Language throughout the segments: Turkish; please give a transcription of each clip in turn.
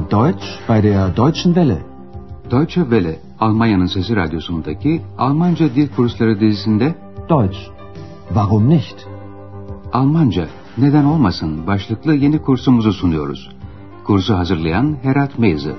Deutsch bei der Deutschen Welle. Deutsche Welle, Almanya'nın Sesi Radyosu'ndaki Almanca Dil Kursları dizisinde Deutsch. Warum nicht? Almanca, neden olmasın başlıklı yeni kursumuzu sunuyoruz. Kursu hazırlayan Herat Meyze.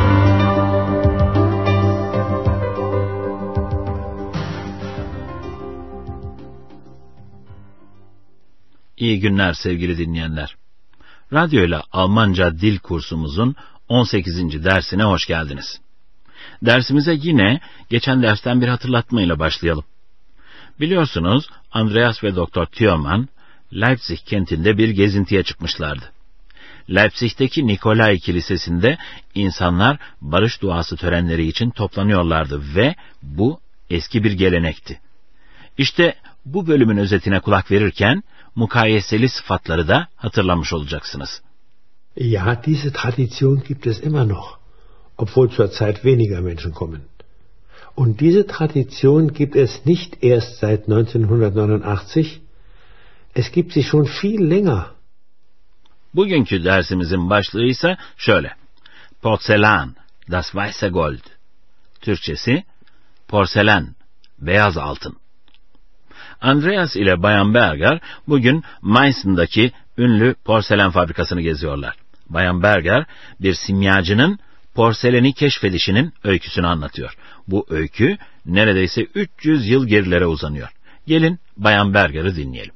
İyi günler sevgili dinleyenler. Radyo ile Almanca dil kursumuzun 18. dersine hoş geldiniz. Dersimize yine geçen dersten bir hatırlatmayla başlayalım. Biliyorsunuz Andreas ve Dr. Thürmann Leipzig kentinde bir gezintiye çıkmışlardı. Leipzig'teki Nikolai Kilisesi'nde insanlar barış duası törenleri için toplanıyorlardı ve bu eski bir gelenekti. İşte bu bölümün özetine kulak verirken mukayeseli sıfatları da hatırlamış olacaksınız. Ja, diese Tradition gibt es immer noch, obwohl zurzeit weniger Menschen kommen. Und diese Tradition gibt es nicht erst seit 1989, es gibt sie schon viel länger. Bugünkü dersimizin başlığı ise şöyle: Porzellan, das weiße Gold. Türkçesi, porselen, beyaz altın. Andreas ile Bayan Berger bugün Meißen'daki ünlü porselen fabrikasını geziyorlar. Bayan Berger bir simyacının porseleni keşfedişinin öyküsünü anlatıyor. Bu öykü neredeyse 300 yıl gerilere uzanıyor. Gelin Bayan Berger'i dinleyelim.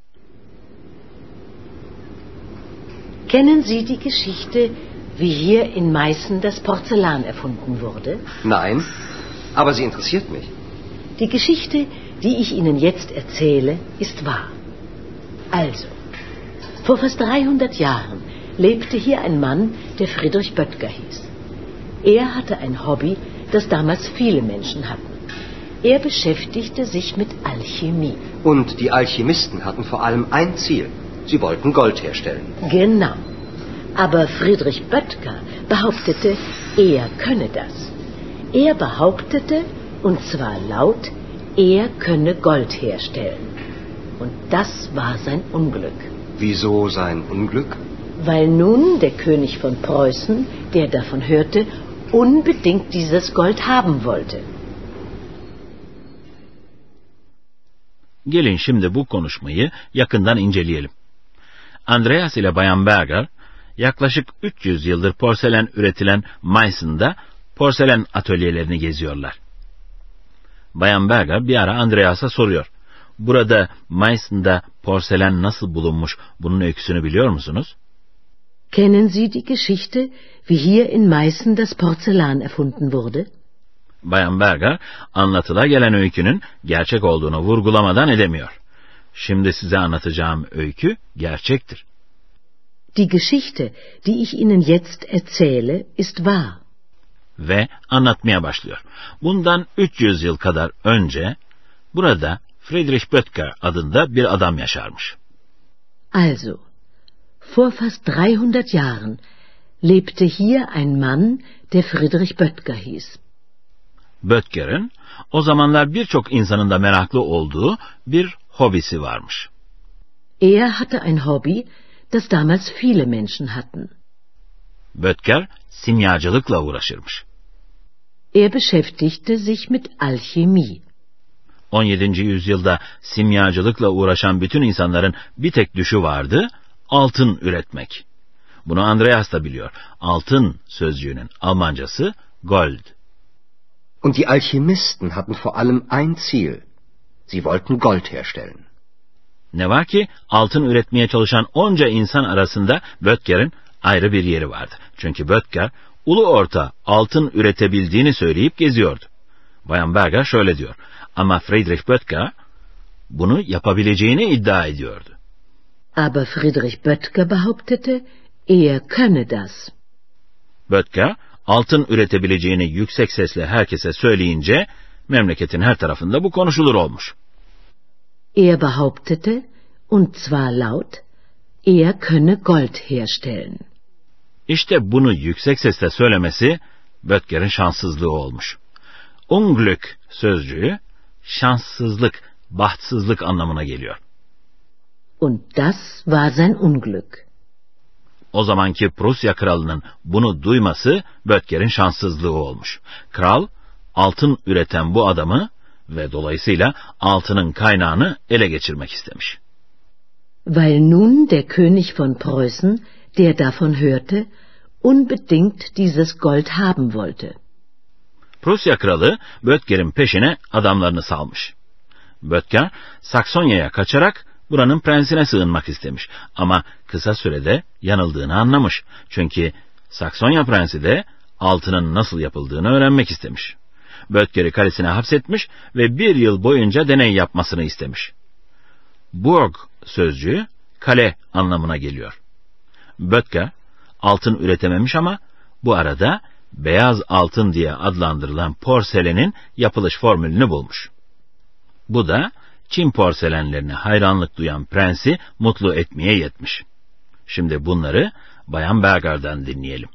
Kennen Sie die Geschichte, wie hier in Meißen das Porzellan erfunden wurde? Nein, aber sie interessiert mich. Die Geschichte, die ich Ihnen jetzt erzähle, ist wahr. Also, vor fast 300 Jahren lebte hier ein Mann, der Friedrich Böttger hieß. Er hatte ein Hobby, das damals viele Menschen hatten. Er beschäftigte sich mit Alchemie. Und die Alchemisten hatten vor allem ein Ziel. Sie wollten Gold herstellen. Genau. Aber Friedrich Böttger behauptete, er könne das. Er behauptete, und zwar laut, er könne Gold herstellen. Und das war sein Unglück. Wieso sein Unglück? Weil nun der König von Preußen, der davon hörte, unbedingt dieses Gold haben wollte. Gelin şimdi bu konuşmayı yakından inceleyelim. Andreas ile Bayan Berger yaklaşık 300 yıldır porselen üretilen Meißen'da porselen atölyelerini geziyorlar. Bayan Berger bir ara Andreas'a soruyor. Burada Meißen'da porselen nasıl bulunmuş, bunun öyküsünü biliyor musunuz? Kennen Sie die Geschichte, wie hier in Meißen das Porzellan erfunden wurde? Bayan Berger anlatıla gelen öykünün gerçek olduğunu vurgulamadan edemiyor. Şimdi size anlatacağım öykü gerçektir. Die Geschichte, die ich Ihnen jetzt erzähle, ist wahr. Ve anlatmaya başlıyor. Bundan 300 yıl kadar önce burada Friedrich Böttger adında bir adam yaşarmış. Also, vor fast 300 Jahren lebte hier ein Mann, der Friedrich Böttger hieß. Böttger'in o zamanlar birçok insanın da meraklı olduğu bir hobisi varmış. Er hatte ein Hobby, das damals viele Menschen hatten. Böttger simyacılıkla uğraşırmış. Er beschäftigte sich mit Alchemie. 17. yüzyılda simyacılıkla uğraşan bütün insanların bir tek düşü vardı, altın üretmek. Bunu Andreas da biliyor. Altın sözcüğünün Almancası Gold. Und die Alchemisten hatten vor allem ein Ziel. Sie wollten Gold herstellen. Ne var ki altın üretmeye çalışan onca insan arasında Böttger'in ayrı bir yeri vardı. Çünkü Böttger ulu orta altın üretebildiğini söyleyip geziyordu. Bayan Berger şöyle diyor. Ama Friedrich Böttger bunu yapabileceğini iddia ediyordu. Aber Friedrich Böttger behauptete, er könne das. Böttger altın üretebileceğini yüksek sesle herkese söyleyince memleketin her tarafında bu konuşulur olmuş. Er behauptete, und zwar laut, er könne Gold herstellen. İşte bunu yüksek sesle söylemesi Böttger'in şanssızlığı olmuş. Unglück sözcüğü şanssızlık, bahtsızlık anlamına geliyor. Und das war sein Unglück. O zamanki Prusya kralının bunu duyması Böttger'in şanssızlığı olmuş. Kral, altın üreten bu adamı ve dolayısıyla altının kaynağını ele geçirmek istemiş. Weil nun der König von Preußen, der davon hörte, unbedingt dieses Gold haben wollte. Prusya kralı Böttger'in peşine adamlarını salmış. Böttger, Saksonya'ya kaçarak buranın prensine sığınmak istemiş ama kısa sürede yanıldığını anlamış. Çünkü Saksonya prensi de altının nasıl yapıldığını öğrenmek istemiş. Böttger'i kalesine hapsetmiş ve 1 yıl boyunca deney yapmasını istemiş. Burg sözcüğü kale anlamına geliyor. Böttger altın üretememiş ama bu arada beyaz altın diye adlandırılan porselenin yapılış formülünü bulmuş. Bu da Çin porselenlerine hayranlık duyan prensi mutlu etmeye yetmiş. Şimdi bunları Bayan Berger'dan dinleyelim.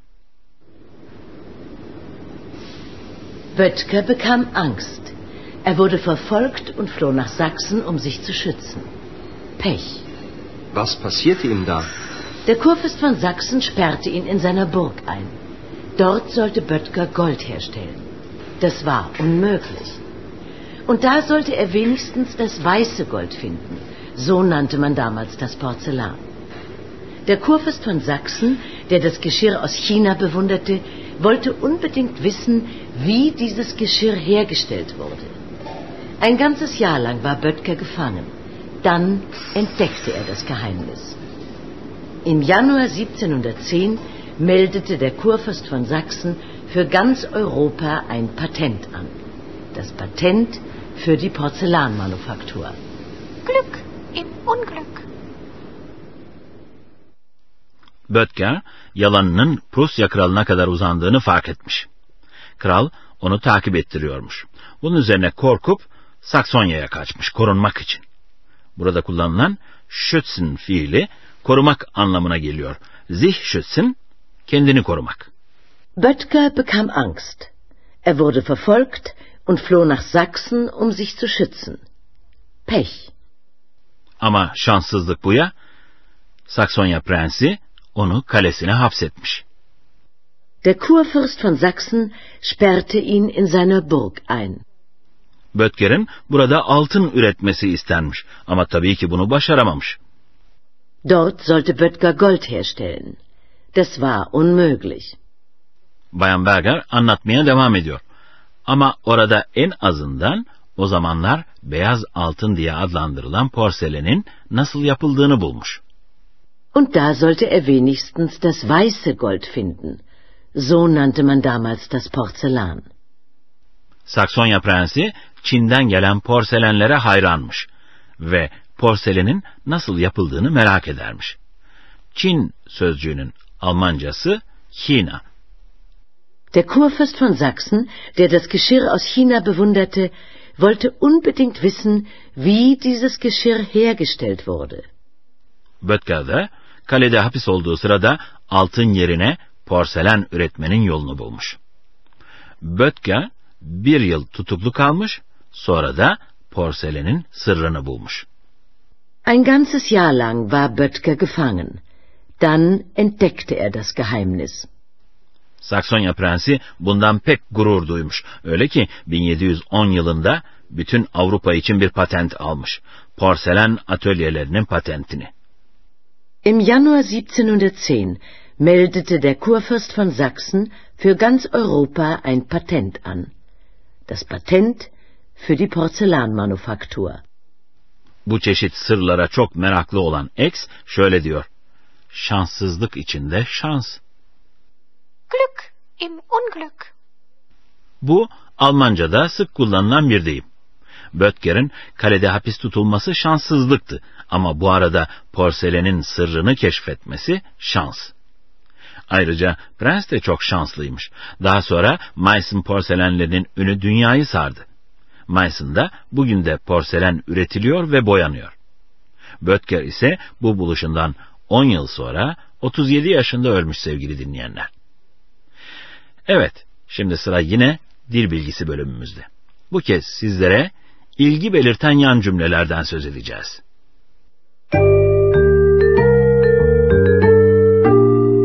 Böttger bekam Angst. Er wurde verfolgt und floh nach Sachsen, um sich zu schützen. Pech. Was passierte ihm da? Der Kurfürst von Sachsen sperrte ihn in seiner Burg ein. Dort sollte Böttger Gold herstellen. Das war unmöglich. Und da sollte er wenigstens das weiße Gold finden. So nannte man damals das Porzellan. Der Kurfürst von Sachsen, der das Geschirr aus China bewunderte, wollte unbedingt wissen, wie dieses Geschirr hergestellt wurde. Ein ganzes Jahr lang war Böttger gefangen. Dann entdeckte er das Geheimnis. Im Januar 1710 meldete der Kurfürst von Sachsen für ganz Europa ein Patent an. Das Patent für die Porzellanmanufaktur. Glück im Unglück. Böttger, yalanının Prusya kralına kadar uzandığını fark etmiş. Kral onu takip ettiriyormuş. Bunun üzerine korkup Saksonya'ya kaçmış korunmak için. Burada kullanılan schützen fiili korumak anlamına geliyor. Sich schützen, kendini korumak. Böttger bekam Angst. Er wurde verfolgt und floh nach Sachsen, um sich zu schützen. Pech. Ama şanssızlık bu ya, Saksonya prensi onu kalesine hapsetmiş. Der Kurfürst von Sachsen sperrte ihn in seiner Burg ein. Böttger'in burada altın üretmesi istenmiş ama tabii ki bunu başaramamış. Dort sollte Böttger Gold herstellen. Das war unmöglich. Bayan Berger anlatmaya devam ediyor. Ama orada en azından o zamanlar beyaz altın diye adlandırılan porselenin nasıl yapıldığını bulmuş. Und da sollte er wenigstens das weiße Gold finden. So nannte man damals das Porzellan. Saksonya prensi Çin'den gelen porselenlere hayranmış ve porselenin nasıl yapıldığını merak edermiş. Çin sözcüğünün Almancası China. Der Kurfürst von Sachsen, der das Geschirr aus China bewunderte, wollte unbedingt wissen, wie dieses Geschirr hergestellt wurde. Böttger de kalede hapis olduğu sırada altın yerine porselen üretmenin yolunu bulmuş. Böttger 1 yıl tutuklu kalmış, sonra da porselenin sırrını bulmuş. Ein ganzes Jahr lang war Böttger gefangen. Dann entdeckte er das Geheimnis. Saksonya prensi bundan pek gurur duymuş. Öyle ki 1710 yılında bütün Avrupa için bir patent almış. Porselen atölyelerinin patentini. Im Januar 1710 meldete der Kurfürst von Sachsen für ganz Europa ein Patent an. Das Patent für die Porzellanmanufaktur. Bu çeşit sırlara çok meraklı olan X şöyle diyor. Şanssızlık içinde şans. Glück im Unglück. Bu Almanca'da sık kullanılan bir deyim. Böttger'in kalede hapis tutulması şanssızlıktı ama bu arada porselenin sırrını keşfetmesi şans. Ayrıca prens de çok şanslıymış. Daha sonra Meissen porselenlerinin ünü dünyayı sardı. Meissen'da bugün de porselen üretiliyor ve boyanıyor. Böttger ise bu buluşundan 10 yıl sonra 37 yaşında ölmüş sevgili dinleyenler. Evet, şimdi sıra yine dil bilgisi bölümümüzde. Bu kez sizlere ilgi belirten yan cümlelerden söz edeceğiz.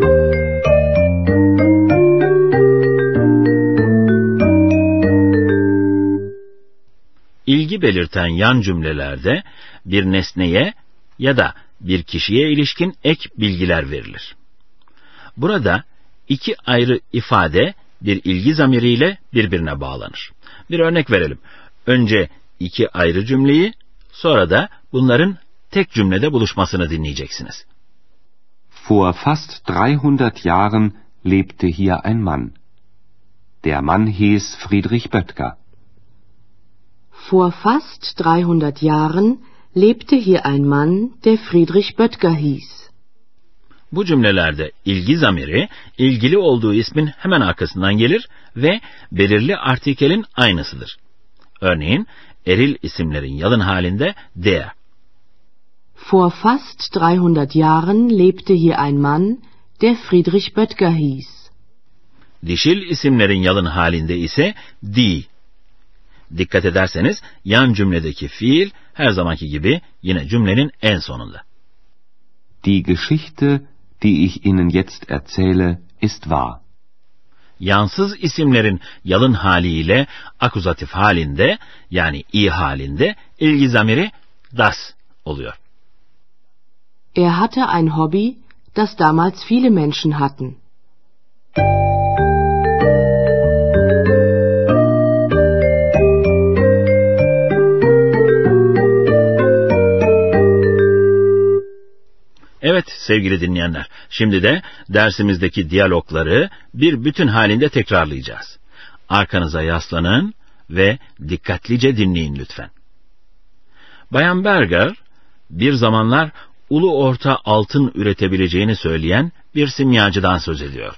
ilgi belirten yan cümlelerde bir nesneye ya da bir kişiye ilişkin ek bilgiler verilir. Burada iki ayrı ifade bir ilgi zamiriyle birbirine bağlanır. Bir örnek verelim. Önce iki ayrı cümleyi, sonra da bunların tek cümlede buluşmasını dinleyeceksiniz. Vor fast 300 Jahren lebte hier ein Mann. Der Mann hieß Friedrich Böttger. Vor fast 300 Jahren lebte hier ein Mann, der Friedrich Böttger hieß. Bu cümlelerde ilgi zamiri, ilgili olduğu ismin hemen arkasından gelir ve belirli artikelin aynısıdır. Örneğin, eril isimlerin yalın halinde der. Vor fast 300 Jahren lebte hier ein Mann, der Friedrich Böttger hieß. Dişil isimlerin yalın halinde ise die. Dikkat ederseniz yan cümledeki fiil her zamanki gibi yine cümlenin en sonunda. Die Geschichte, die ich Ihnen jetzt erzähle, ist wahr. Yansız isimlerin yalın haliyle akuzatif halinde yani i halinde ilgi zamiri das oluyor. Er hatte ein Hobby, das damals viele Menschen hatten. Evet sevgili dinleyenler, şimdi de dersimizdeki diyalogları bir bütün halinde tekrarlayacağız. Arkanıza yaslanın ve dikkatlice dinleyin lütfen. Bayan Berger, bir zamanlar ulu orta altın üretebileceğini söyleyen bir simyacıdan söz ediyor.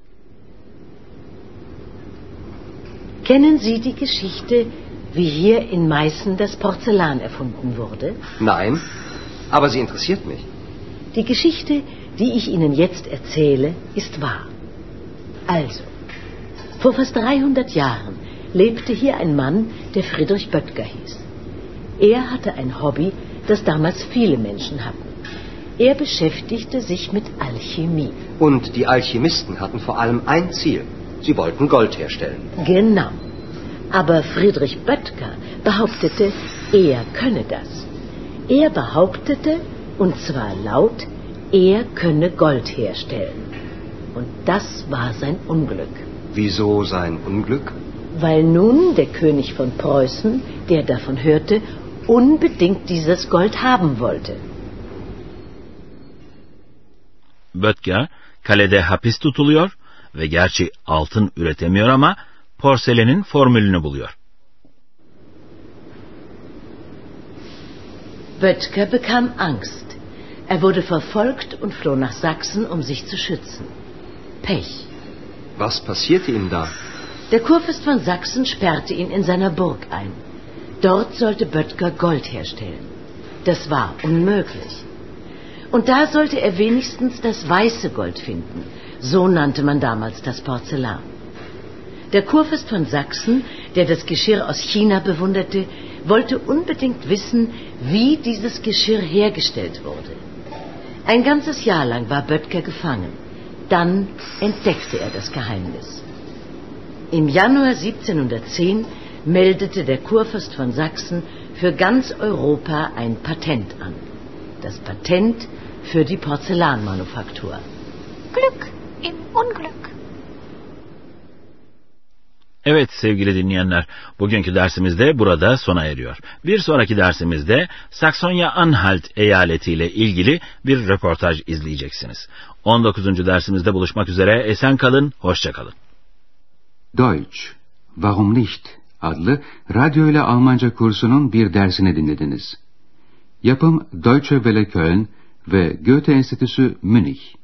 Kennen Sie die Geschichte, wie hier in Meißen das Porzellan erfunden wurde? Nein, aber sie interessiert mich. Die Geschichte, die ich Ihnen jetzt erzähle, ist wahr. Also, vor fast 300 Jahren lebte hier ein Mann, der Friedrich Böttger hieß. Er hatte ein Hobby, das damals viele Menschen hatten. Er beschäftigte sich mit Alchemie. Und die Alchemisten hatten vor allem ein Ziel. Sie wollten Gold herstellen. Genau. Aber Friedrich Böttger behauptete, er könne das. Er behauptete, und zwar laut, er könne Gold herstellen. Und das war sein Unglück. Wieso sein Unglück? Weil nun der König von Preußen, der davon hörte, unbedingt dieses Gold haben wollte. Böttger kalede hapis tutuluyor ve gerçi altın üretemiyor ama porselenin formülünü buluyor. Böttger bekam Angst. Er wurde verfolgt und floh nach Sachsen, um sich zu schützen. Pech. Was passierte ihm da? Der Kurfürst von Sachsen sperrte ihn in seiner Burg ein. Dort sollte Böttger Gold herstellen. Das war unmöglich. Und da sollte er wenigstens das weiße Gold finden. So nannte man damals das Porzellan. Der Kurfürst von Sachsen, der das Geschirr aus China bewunderte, wollte unbedingt wissen, wie dieses Geschirr hergestellt wurde. Ein ganzes Jahr lang war Böttger gefangen. Dann entdeckte er das Geheimnis. Im Januar 1710 meldete der Kurfürst von Sachsen für ganz Europa ein Patent an. Das Patent für die Porzellanmanufaktur. Glück im Unglück. Evet sevgili dinleyenler, bugünkü dersimiz de burada sona eriyor. Bir sonraki dersimizde Saksonya-Anhalt eyaletiyle ilgili bir röportaj izleyeceksiniz. 19. dersimizde buluşmak üzere, esen kalın, hoşça kalın. Deutsch, Warum nicht? Adlı radyo ile Almanca kursunun bir dersini dinlediniz. Yapım Deutsche Welle Köln ve Goethe Enstitüsü Münih.